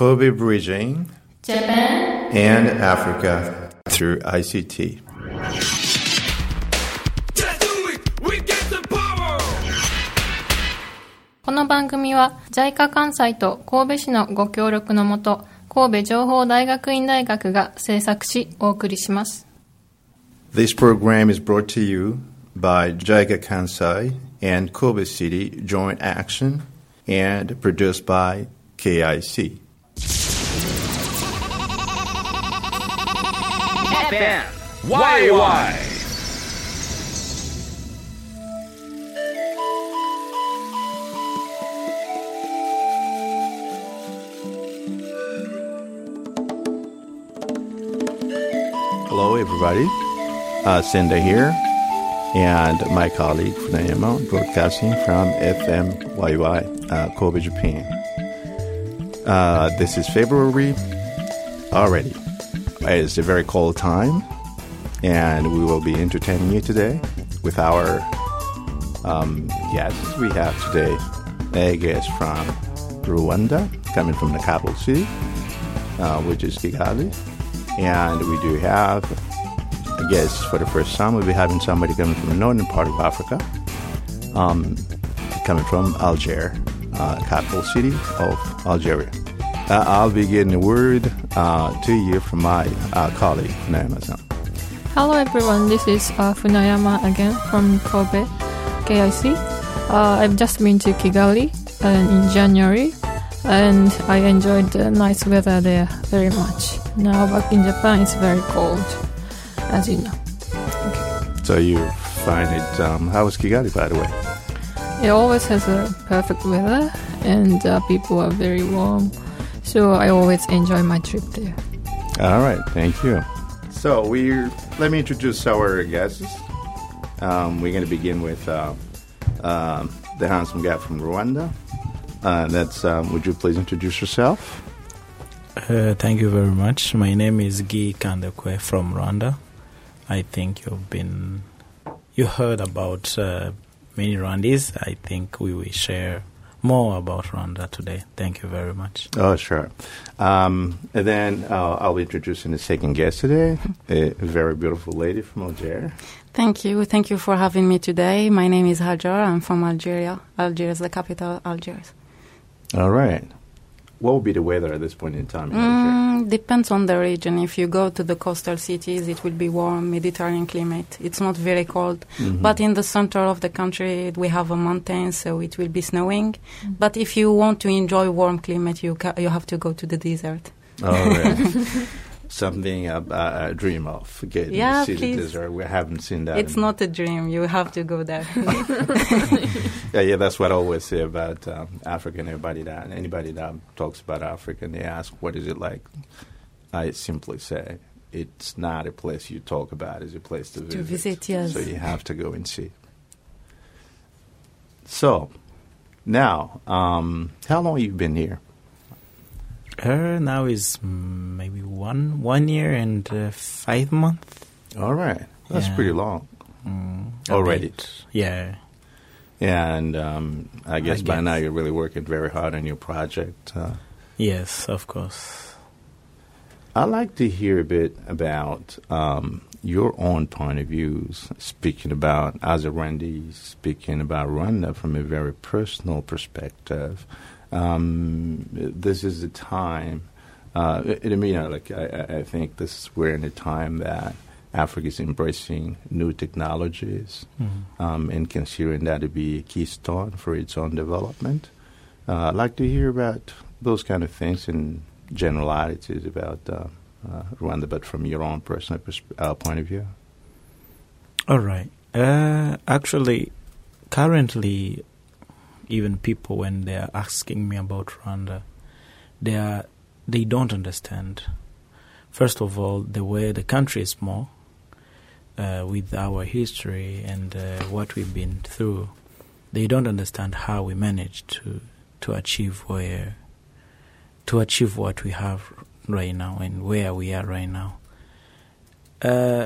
Kobe Bridging Japan and Africa through ICT. この番組は JICA 関西と神戸市のご協力のもと、神戸情報大学院大学が制作しお送りします。 This program is brought to you by JICA Kansai and Kobe City Joint Action and produced by KIC. FM YY Hello, everybody. Senda here, and my colleague Funayama, broadcasting from FMYY, Kobe, Japan. This is February already. It's a very cold time, and we will be entertaining you today with our guests. We have today a guest from Rwanda, coming from the capital city, which is Kigali. And we do have a guest for the first time. We'll be having somebody coming from the northern part of Africa, coming from Algiers, capital city of Algeria. I'll be getting a word to you from my colleague, Funayama-san. Hello everyone, this is Funayama again from Kobe, KIC. I've just been to Kigali in January, and I enjoyed the nice weather there very much. Now back in Japan, it's very cold, as you know. Okay. So you find it, how was Kigali, by the way? It always has a perfect weather, and people are very warm. So I always enjoy my trip there. All right, thank you. So let me introduce our guests. We're going to begin with the handsome guy from Rwanda. Would you please introduce yourself? Thank you very much. My name is Guy Kandekwe from Rwanda. I think you heard about many Rwandese. I think we will share more about Rwanda today. Thank you very much. Oh, sure. And then I'll be introducing the second guest today, a very beautiful lady from Algeria. Thank you. Thank you for having me today. My name is Hajar. I'm from Algeria. Algiers, the capital, Algiers. All right. What will be the weather at this point in time in Algeria? Depends on the region. If you go to the coastal cities, it will be warm, Mediterranean climate. It's not very cold. Mm-hmm. But in the center of the country, we have a mountain, so it will be snowing. Mm-hmm. But if you want to enjoy warm climate, you have to go to the desert. All right. Something I dream of, getting to see the desert. We haven't seen that. It's not a dream. You have to go there. Yeah, that's what I always say about Africa. And anybody that talks about Africa and they ask, what is it like? I simply say, it's not a place you talk about. It's a place to visit. To visit, yes. So you have to go and see. So, now, how long have you been here? Now is maybe one year and 5 months. All right. That's pretty long. Already. Yeah. And I guess by now you're really working very hard on your project. Yes, of course. I'd like to hear a bit about your own point of views, speaking about as a Rwandese, speaking about Rwanda from a very personal perspective. This is a time, I think we're in a time that Africa is embracing new technologies and considering that to be a keystone for its own development. I'd like to hear about those kind of things and generalities about Rwanda, but from your own personal point of view. All right. Actually, currently, even people, when they are asking me about Rwanda, they don't understand. First of all, the way the country is small, with our history and what we've been through, they don't understand how we managed to achieve what we have right now and where we are right now.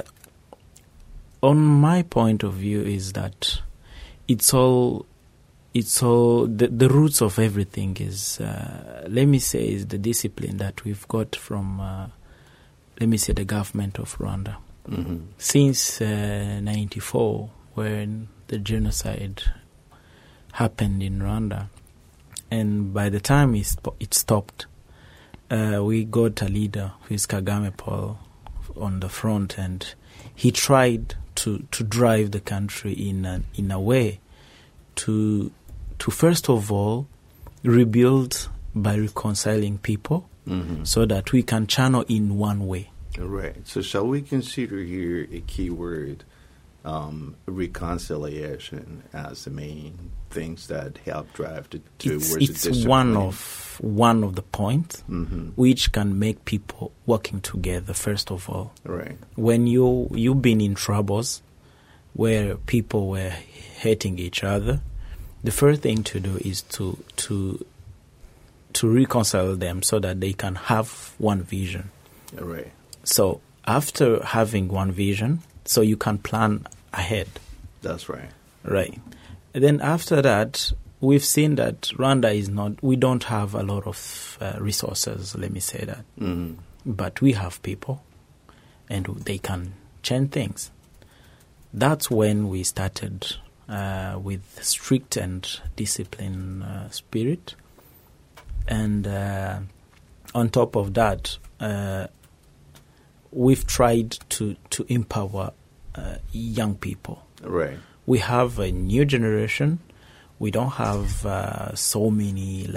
On my point of view is that it's all it's all the roots of everything is, let me say, is the discipline that we've got from, let me say, the government of Rwanda. Mm-hmm. Since 94, when the genocide happened in Rwanda, and by the time it stopped, we got a leader who is Kagame Paul on the front, and he tried to drive the country in a way to first of all rebuild by reconciling people, Mm-hmm. so that we can channel in one way. Right. So shall we consider here a key word, reconciliation, as the main things that help drive towards the It's discipline? one of the points Mm-hmm. which can make people working together. First of all, Right. when you've been in troubles where people were hating each other, the first thing to do is to reconcile them so that they can have one vision. Right. So after having one vision, so you can plan ahead, That's right. right? And then after that, we've seen that Rwanda we don't have a lot of resources, let me say that. Mm-hmm. But we have people, and they can change things. That's when we started with strict and disciplined spirit. And on top of that, we've tried to empower young people. Right. We have a new generation. We don't have so many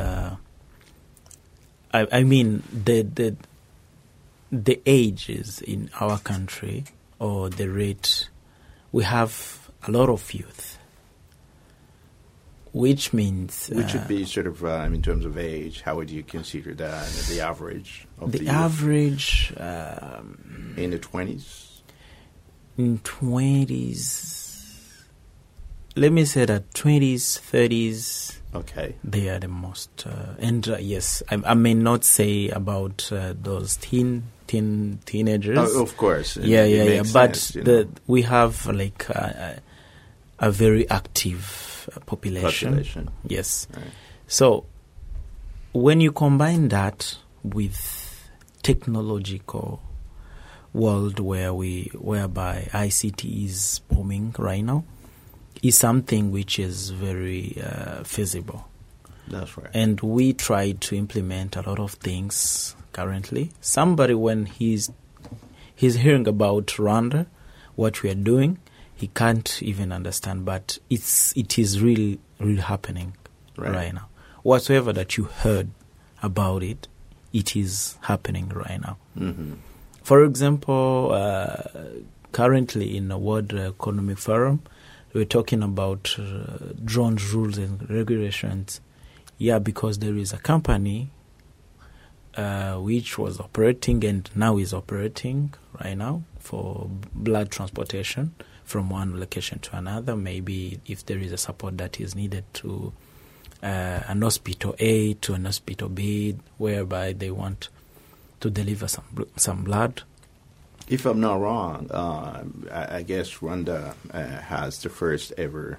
I mean the ages in our country, or the rate. We have a lot of youth, which means Which would be sort of, in terms of age, how would you consider that, the average of the youth? average In the 20s? in 20s. Let me say that 20s, 30s, Okay. they are the most. And yes, I may not say about those teenagers. Oh, of course. Yeah. Makes But sense, you know. we have like a very active population. Yes. Right. So when you combine that with technological world whereby ICT is booming right now, is something which is very feasible. That's right. And we try to implement a lot of things currently. Somebody, when he's hearing about Rwanda, what we are doing, he can't even understand. But it is really happening right now. Whatsoever that you heard about it, it is happening right now. Mm-hmm. For example, currently in the World Economic Forum, we're talking about drone rules and regulations. Yeah, because there is a company which was operating and now is operating right now for blood transportation from one location to another. Maybe if there is a support that is needed to an hospital A to an hospital B, whereby they want to deliver some blood. If I'm not wrong, I guess Rwanda has the first ever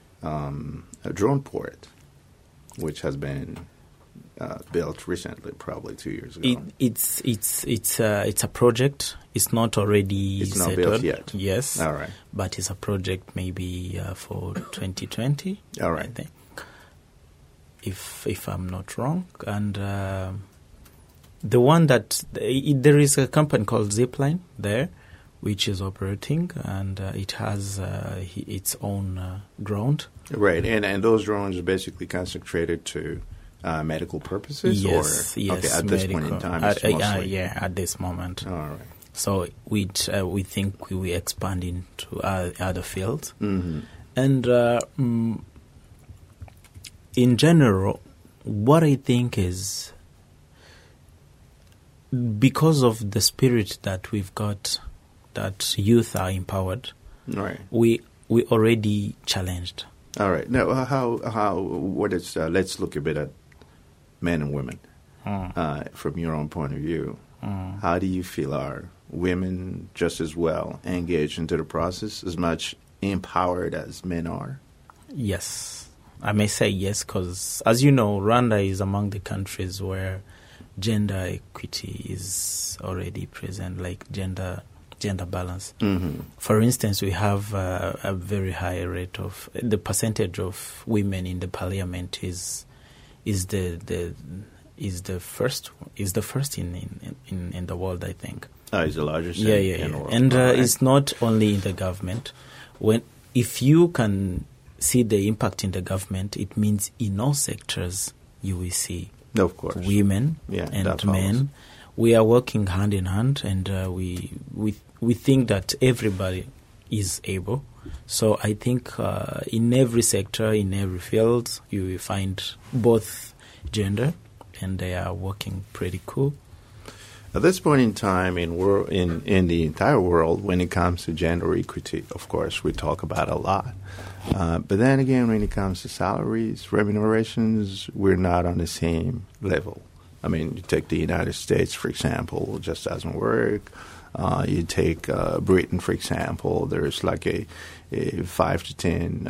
drone port, which has been built recently, probably 2 years ago. It's a project. It's not already It's not settled built yet. Yes. All right. But it's a project maybe for 2020. All right. I think, if I'm not wrong, and the one that there is a company called Zipline there, which is operating, and it has its own ground. Right, and those drones are basically concentrated to medical purposes? Yes, Okay, at this point in time, it's mostly... at this moment. All right. So we think we will expand into other fields. Mm-hmm. And in general, what I think is, because of the spirit that we've got, that youth are empowered, Right. we already challenged. All right. Now, what is, let's look a bit at men and women from your own point of view. How do you feel are women just as well engaged into the process, as much empowered as men are? Yes. I may say yes because, as you know, Rwanda is among the countries where gender equity is already present, like gender balance. Mm-hmm. For instance, we have a very high rate of the percentage of women in the parliament is the first in the world, I think. It's the largest. Yeah. In the world. And All right. it's not only in the government. If you can see the impact in the government, it means in all sectors you will see of course women and that men. follows. We are working hand in hand, and we think that everybody is able. So I think in every sector, in every field, you will find both gender, and they are working pretty cool. At this point in time, in the entire world, when it comes to gender equity, of course, we talk about a lot. But then again, when it comes to salaries, remunerations, we're not on the same level. I mean, you take the United States, for example, just doesn't work. You take Britain, for example, there's like a 5 to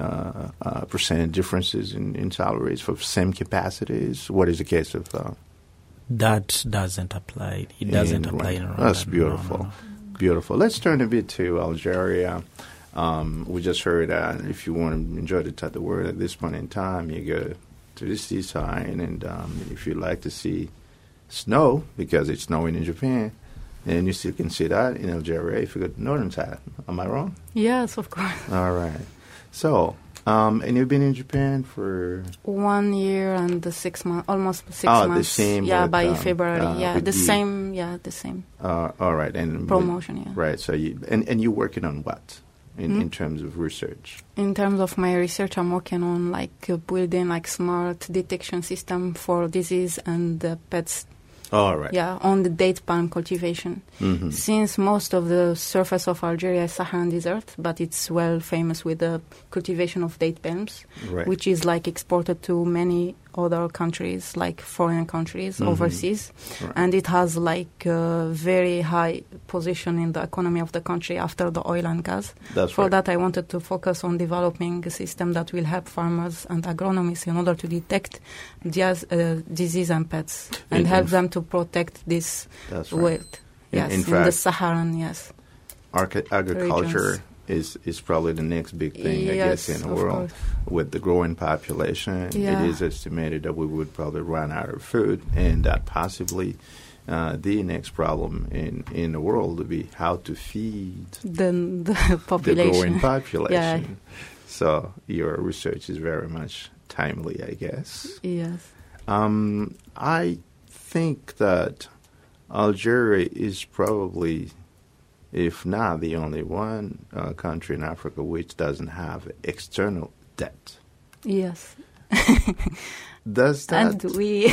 10% differences in salaries for same capacities. What is the case of... that doesn't apply. It doesn't apply in Rwanda. That's beautiful. No. Beautiful. Let's turn a bit to Algeria. We just heard that if you want to enjoy the word at this point in time, you go to the seaside, and if you like to see snow, because it's snowing in Japan, and you still can see that in Algeria if you go to the northern side. Am I wrong? Yes, of course. All right. So, and you've been in Japan for 1 year and 6 months, almost 6 the months. same Yeah, with, by February. with The the- same. Yeah, the same all right, and promotion. Yeah. right. So you're working on what in terms of research? In terms of my research, I'm working on building smart detection system for disease and pets. All right. Yeah, on the date palm cultivation. Mm-hmm. Since most of the surface of Algeria is Saharan desert, but it's well famous with the cultivation of date palms, Right. which is exported to many other countries, like foreign countries, Mhm. overseas. Right. And it has a very high position in the economy of the country after the oil and gas. That's For right. that, I wanted to focus on developing a system that will help farmers and agronomists in order to detect disease and pets and help them to protect this That's right. wealth. Yes, In in the fact, Saharan, yes. Agriculture is probably the next big thing, I guess, in the of world. course. With the growing population, Yeah. it is estimated that we would probably run out of food, and that possibly the next problem in the world would be how to feed The the population. growing population. Yeah. So your research is very much timely, I guess. Yes. I think that Algeria is probably, if not the only one country in Africa which doesn't have external debt. Yes. Does that? And we,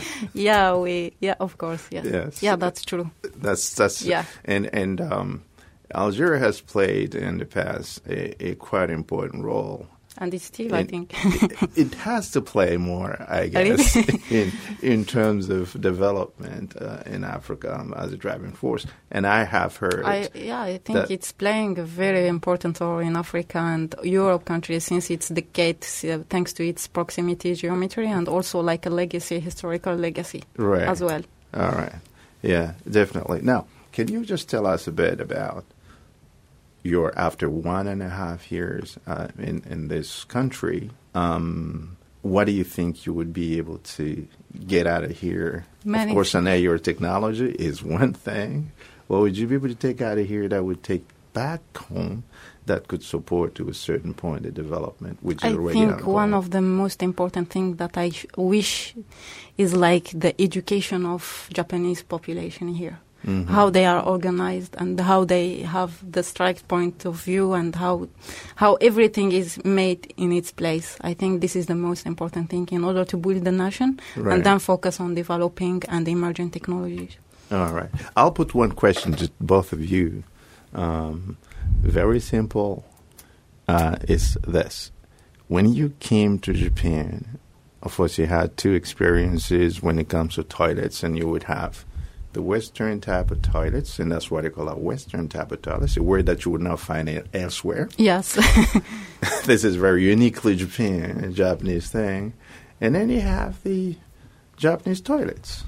of course, yes. Yes. Yeah, that's true. That's Yeah. And Algeria has played in the past a quite important role. And it's still, I think. It has to play more, I guess, in terms of development in Africa as a driving force. And I have heard. I think that- it's playing a very important role in Africa and Europe countries since it's the gate, thanks to its proximity geometry and also a legacy, historical legacy Right. as well. All right. Yeah, definitely. Now, can you just tell us a bit about your, after 1.5 years in this country, what do you think you would be able to get out of here? Many Of course, I know your technology is one thing. What would you be able to take out of here that would take back home that could support to a certain point the development, which is I already think ongoing? one of the most important things that I wish is the education of Japanese population here. Mhm. How they are organized and how they have the strike point of view and how everything is made in its place. I think this is the most important thing in order to build the nation Right. and then focus on developing and emerging technologies. All right. I'll put one question to both of you. Very simple. Is this. When you came to Japan, of course, you had two experiences when it comes to toilets, and you would have the Western type of toilets, and that's what they call a Western type of toilets, a word that you would not find it elsewhere. Yes. This is very uniquely Japan, a Japanese thing. And then you have the Japanese toilets.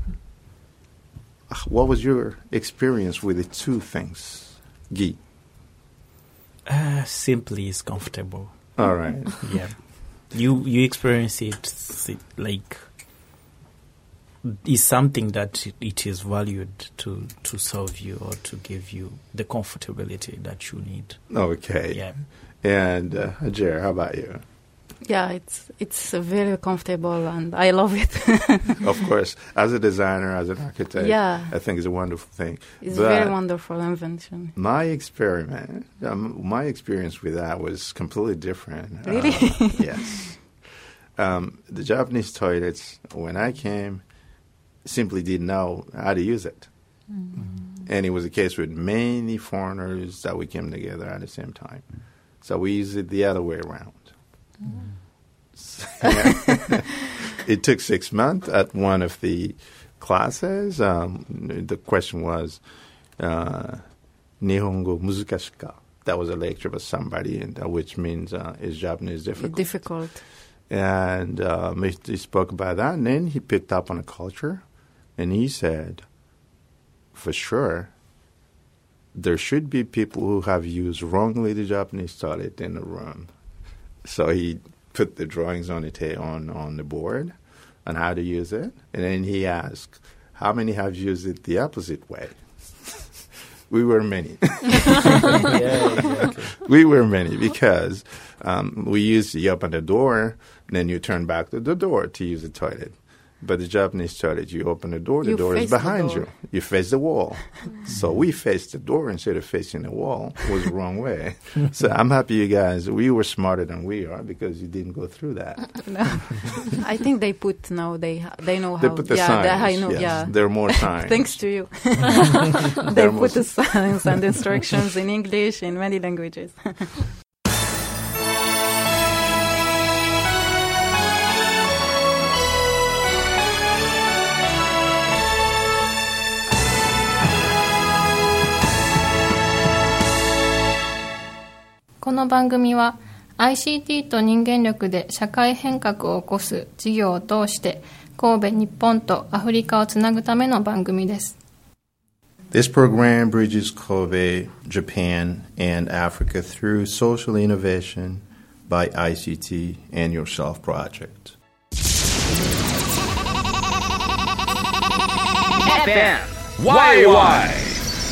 What was your experience with the two things, Guy? Simply is comfortable. All right. Yeah. You experience it like is something that it is valued to serve you or to give you the comfortability that you need. Okay. Yeah. And Jer, how about you? Yeah, it's very comfortable and I love it. Of course, as a designer, as an architect, Yeah. I think it's a wonderful thing. It's But very wonderful invention. my experience with that was completely different. Really? Yes. The Japanese toilets, when I came, simply didn't know how to use it. And it was a case with many foreigners that we came together at the same time. So we used it the other way around. It took 6 months at one of the classes. The question was, Nihongo muzukashiku ka? That was a lecture by somebody, which means is Japanese difficult? Difficult. And he spoke about that, and then he picked up on a culture, and he said, for sure, there should be people who have used wrongly the Japanese toilet in the room. So he put the drawings on the board on how to use it, and then he asked, how many have used it the opposite way? We were many. Yeah, exactly. We were many because we used to open the door, and then you turn back to the door to use the toilet. But the Japanese toilet, you open the door is behind you. You face the wall. So we faced the door instead of facing the wall. It was the wrong way. So I'm happy you guys, we were smarter than we are because you didn't go through that. No. I think they put now, they know how. They put the signs. I know, yes. yeah. There are more signs. Thanks to you. There They must- put the signs and instructions in English, in many languages. この番組は ICT と人間力で社会変革を起こす事業を通して神戸、日本とアフリカをつなぐための番組です。 This program bridges Kobe, Japan, and Africa through social innovation by ICT and Yourself Project. FM YY.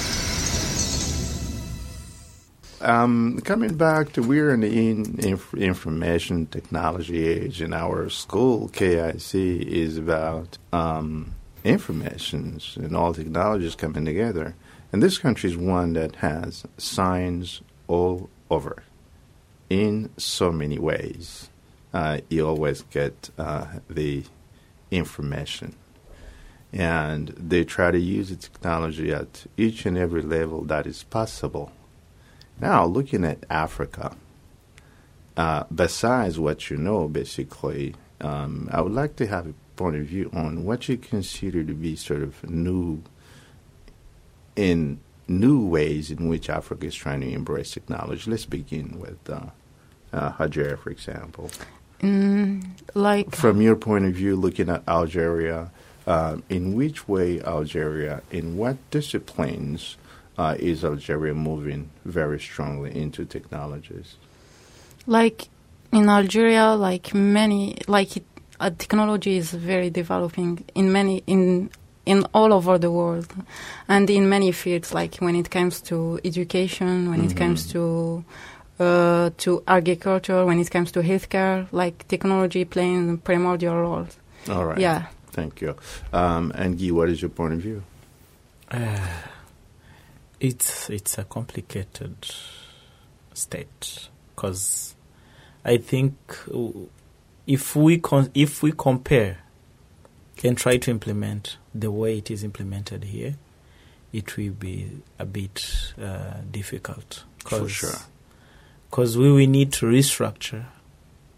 Coming back to, we're in the information technology age, and our school, KIC, is about informations and all technologies coming together. And this country is one that has signs all over in so many ways. You always get the information. And they try to use the technology at each and every level that is possible. Now, looking at Africa, besides what you know, basically, I would like to have a point of view on what you consider to be sort of new ways in which Africa is trying to embrace technology. Let's begin with Hajer, for example. From your point of view, looking at Algeria, in which way Algeria, in what disciplines is Algeria moving very strongly into technologies? Like in Algeria, technology is very developing in all over the world, and in many fields. Like when it comes to education, when it comes to agriculture, when it comes to healthcare, like technology playing a primordial role. All right. Yeah. Thank you. And Guy, what is your point of view? It's a complicated state because I think if we compare and try to implement the way it is implemented here, it will be a bit difficult. For sure. Because we will need to restructure.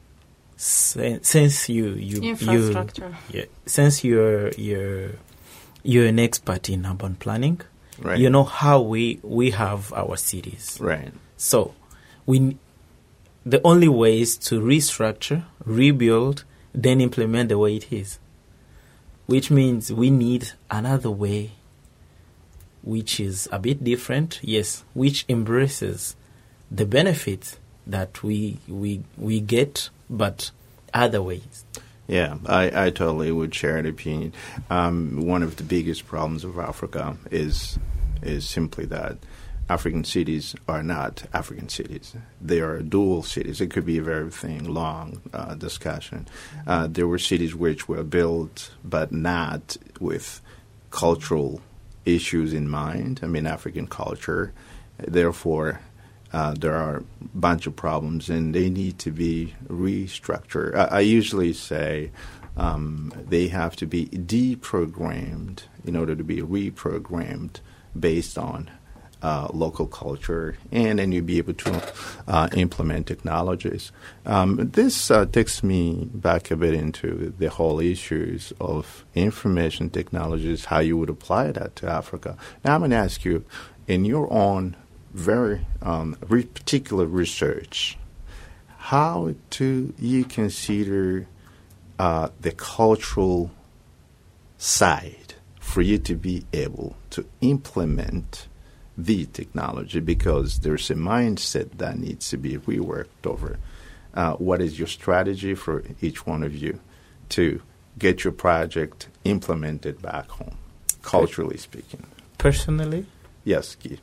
Since you infrastructure. Since your you're an expert in urban planning. Right. You know how we have our cities. Right. So the only way is to restructure, rebuild, then implement the way it is. Which means we need another way which is a bit different, yes, which embraces the benefits that we get, but other ways. Yeah, I totally would share the opinion. One of the biggest problems of Africa is simply that African cities are not African cities. They are dual cities. It could be a very long discussion. There were cities which were built, but not with cultural issues in mind. I mean, African culture. Therefore, there are a bunch of problems, and they need to be restructured. I usually say they have to be deprogrammed in order to be reprogrammed based on local culture, and then you'll be able to implement technologies. This takes me back a bit into the whole issues of information technologies, how you would apply that to Africa. Now I'm going to ask you, in your own very particular research, how do you consider the cultural side for you to be able to implement the technology, because there's a mindset that needs to be reworked over. What is your strategy for each one of you to get your project implemented back home, culturally speaking? Personally? Yes, Guy.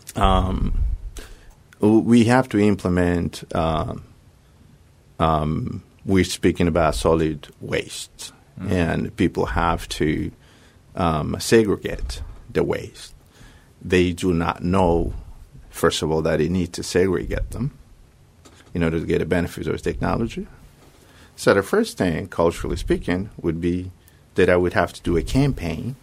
We have to implement, we're speaking about solid waste, and people have to segregate the waste. They do not know, first of all, that they need to segregate them in order to get the benefits of technology. So the first thing, culturally speaking, would be that I would have to do a campaign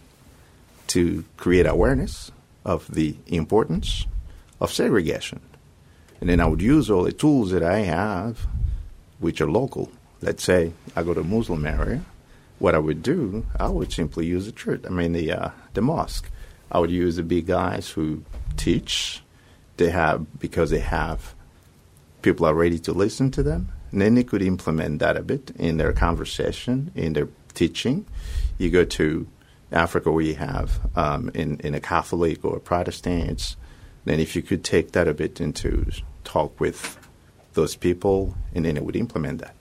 to create awareness of the importance of segregation. And then I would use all the tools that I have, which are local. Let's say I go to a Muslim area. What I would do, I would simply use the church, the mosque. I would use the big guys who teach. Because they have people are ready to listen to them. And then they could implement that a bit in their conversation, in their teaching. You go to Africa where you have in a Catholic or Protestants, then if you could take that a bit into talk with those people, and then it would implement that.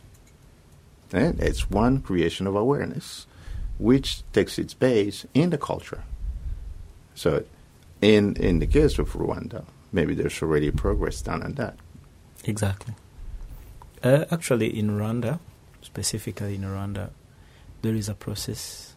And it's one creation of awareness, which takes its base in the culture. So in the case of Rwanda, maybe there's already progress done on that. Exactly. Actually, in Rwanda, specifically in Rwanda, there is a process.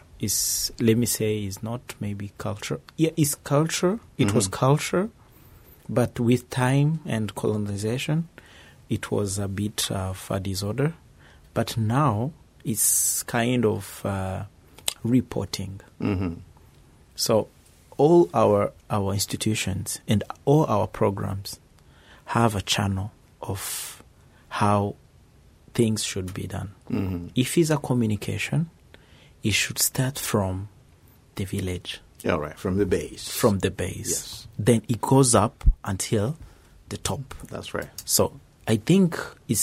Let me say, is not maybe culture. Yeah, it's culture. It was culture, but with time and colonization, it was a bit of a disorder. But now it's kind of reporting. Mm-hmm. So all our institutions and all our programs have a channel of how things should be done. Mm-hmm. If it's a communication, it should start from the village. All right, from the base. From the base. Yes. Then it goes up until the top. That's right. So I think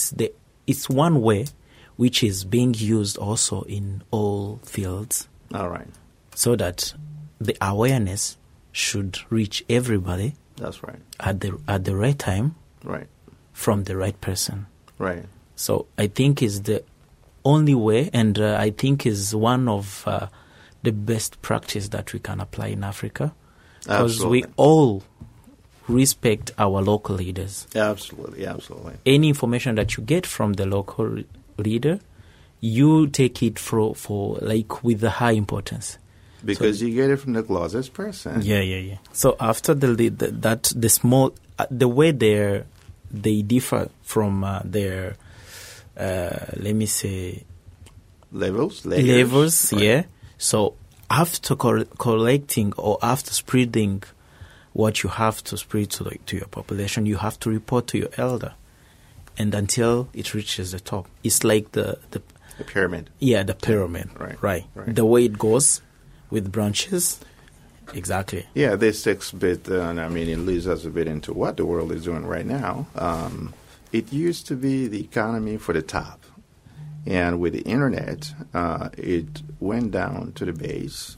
it's one way which is being used also in all fields. All right. So that the awareness should reach everybody. That's right. At the right time. Right. From the right person. Right. So I think is the only way, and I think is one of the best practice that we can apply in Africa, because we all respect our local leaders. Absolutely, absolutely. Any information that you get from the local leader, you take it for with the high importance. Because you get it from the closest person. Yeah. So after the small, the way they differ from their, let me say, levels, right. Yeah. So after collecting or after spreading what you have to spread to your population, you have to report to your elder, and until it reaches the top, it's like the pyramid. Yeah, the pyramid. Right. The way it goes. with branches. Exactly. Yeah, this takes a bit, it leads us a bit into what the world is doing right now. It used to be the economy for the top. And with the internet, it went down to the base.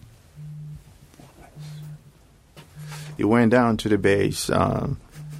It went down to the base in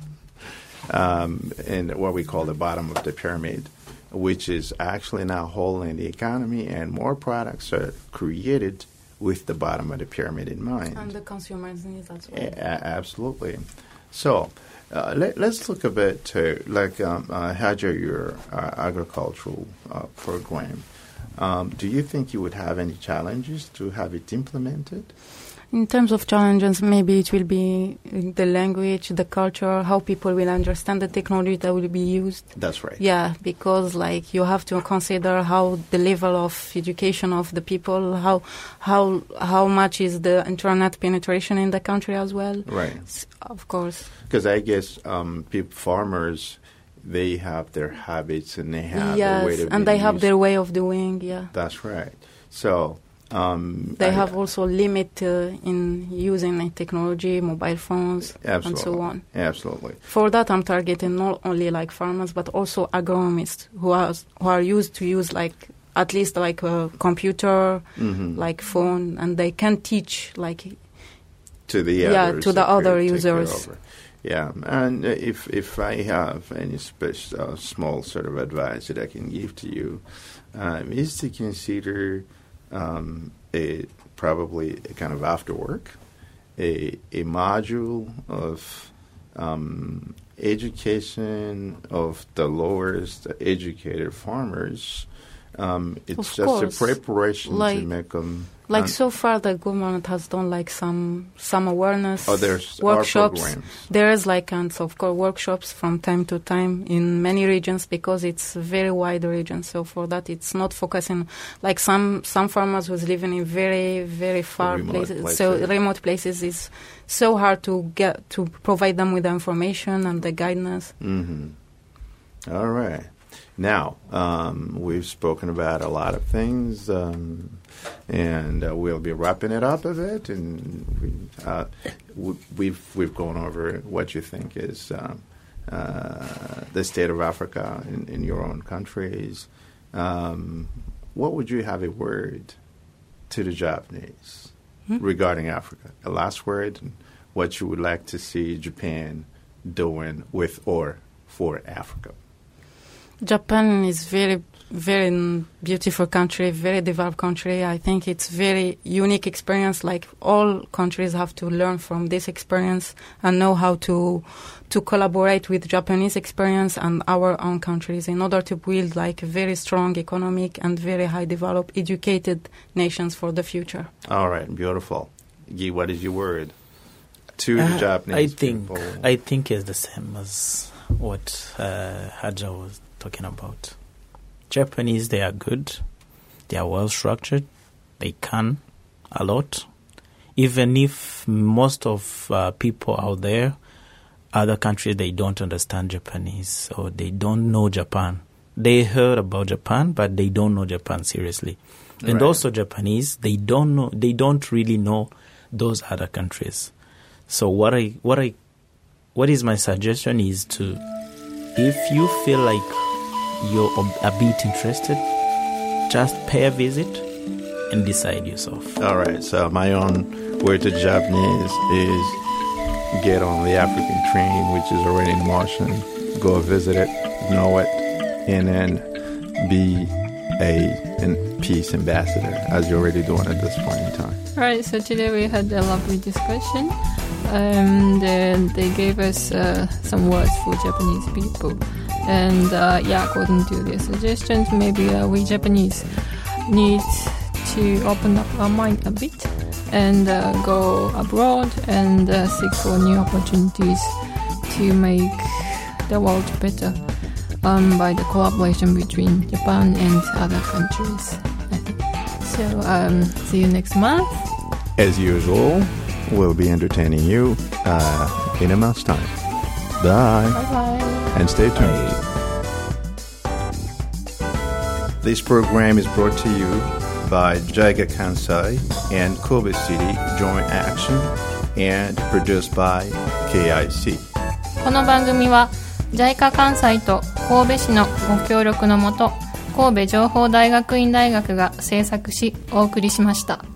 what we call the bottom of the pyramid, which is actually now holding the economy, and more products are created with the bottom of the pyramid in mind. And the consumers' needs as well. Absolutely. So let's look a bit to Hajar, your agricultural program. Do you think you would have any challenges to have it implemented? In terms of challenges, maybe it will be the language, the culture, how people will understand the technology that will be used. That's right. Yeah, because you have to consider how the level of education of the people, how much is the internet penetration in the country as well. Right. Of course. Because I guess farmers, they have their habits and they have their way of and they have their way of doing. Yeah. That's right. So. They have also limit in using technology, mobile phones, and so on. Absolutely. For that, I'm targeting not only farmers, but also agronomists who are used to use at least a computer, phone, and they can teach to the others, to the other users. Yeah, and if I have any small sort of advice that I can give to you, is to consider. Probably a kind of after work, a module of education of the lowest educated farmers. It's just a preparation to make them. So far, the government has done some awareness there's workshops. There is and of course workshops from time to time in many regions because it's a very wide region. So for that, it's not focusing some farmers who's living in very very far places. So remote places is so hard to get to provide them with the information and the guidance. Mm-hmm. All right. Now, we've spoken about a lot of things, and we'll be wrapping it up a bit. And we've gone over what you think is the state of Africa in your own countries. What would you have a word to the Japanese regarding Africa? A last word, and what you would like to see Japan doing with or for Africa? Japan is very, very beautiful country, very developed country. I think it's very unique experience. All countries have to learn from this experience and know how to collaborate with Japanese experience and our own countries in order to build a very strong economic and very high developed, educated nations for the future. All right, beautiful. Guy, what is your word to the Japanese people? I think it's the same as what Hajar was talking about. Japanese, they are good, they are well structured, they can a lot. Even if most of people out there, other countries, they don't understand Japanese or they don't know Japan. They heard about Japan, but they don't know Japan seriously. And also Japanese, they don't really know those other countries. So what is my suggestion is to, if you feel like you're a bit interested, just pay a visit and decide yourself. All right. So my own word to Japanese is get on the African train, which is already in motion. Go visit it, know it, and then be a peace ambassador, as you're already doing at this point in time. All right. So today we had a lovely discussion. And they gave us some words for Japanese people. And according to their suggestions, maybe we Japanese need to open up our mind a bit and go abroad and seek for new opportunities to make the world better by the collaboration between Japan and other countries. So see you next month. As usual, we'll be entertaining you in a month's time. Bye. Bye-bye. And stay tuned. This program is brought to you by JICA Kansai and Kobe City Joint Action and produced by KIC。 この番組は JICA 関西と神戸市のご協力のもと、神戸情報大学院大学が制作しお送りしました。